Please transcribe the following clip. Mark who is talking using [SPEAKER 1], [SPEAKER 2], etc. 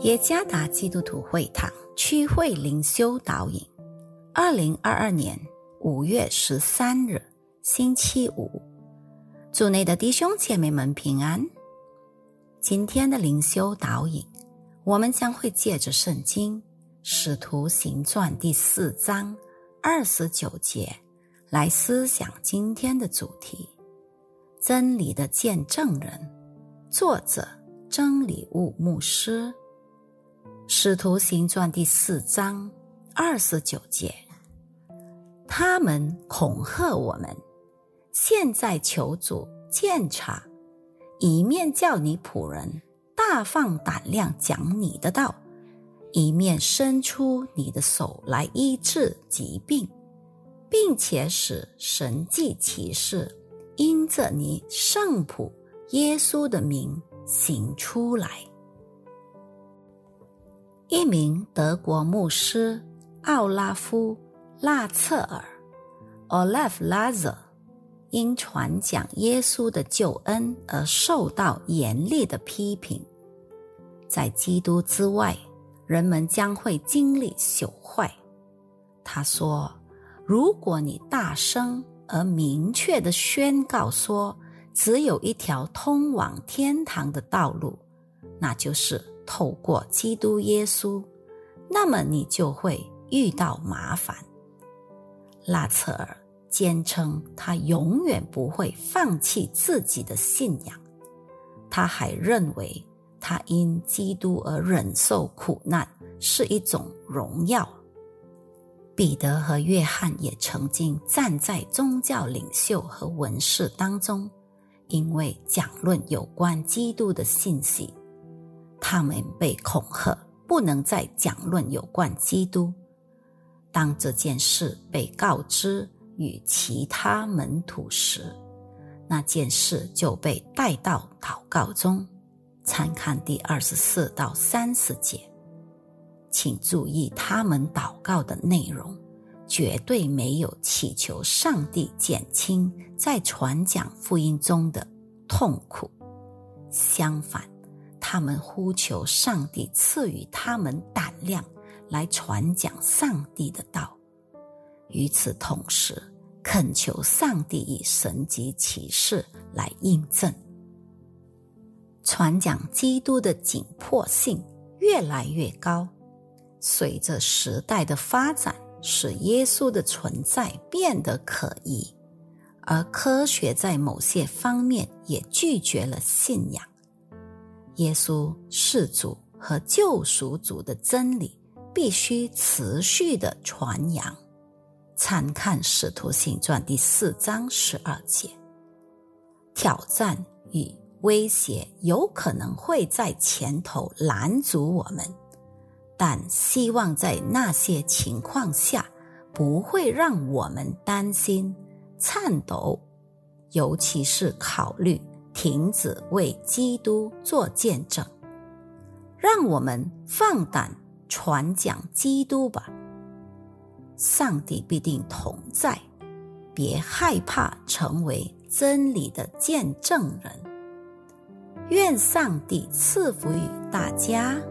[SPEAKER 1] 耶加达基督徒会堂区会灵修导引，2022年5月13日星期五，主内的弟兄姐妹们平安。今天的灵修导引，我们将会借着圣经使徒行传第4章29节来思想今天的主题，真理的见证人，作者真理悟牧师。使徒行传第4章29节，他们恐吓我们，现在求主鉴察，一面叫你仆人大放胆量讲你的道，一面伸出你的手来医治疾病，并且使神迹奇事因着你圣仆耶稣的名行出来。一名德国牧师奥拉夫·拉策尔 Olaf Lazar 因传讲耶稣的救恩而受到严厉的批评。在基督之外，人们将会经历朽坏。他说，如果你大声而明确地宣告说只有一条通往天堂的道路，那就是透过基督耶稣，那么你就会遇到麻烦。拉策尔坚称他永远不会放弃自己的信仰，他还认为他因基督而忍受苦难是一种荣耀。彼得和约翰也曾经站在宗教领袖和文士当中，因为讲论有关基督的信息，他们被恐吓不能再讲论有关基督。当这件事被告知与其他门徒时，那件事就被带到祷告中，参看第24到30节。请注意他们祷告的内容，绝对没有祈求上帝减轻在传讲福音中的痛苦，相反，他们呼求上帝赐予他们胆量来传讲上帝的道，与此同时恳求上帝以神迹奇事来印证。传讲基督的紧迫性越来越高，随着时代的发展，使耶稣的存在变得可疑，而科学在某些方面也拒绝了信仰。耶稣是主和救赎主的真理必须持续的传扬，参看使徒行传第4章12节。挑战与威胁有可能会在前头拦阻我们，但希望在那些情况下不会让我们担心、颤抖，尤其是考虑停止为基督做见证。让我们放胆传讲基督吧，上帝必定同在，别害怕成为真理的见证人。愿上帝赐福于大家。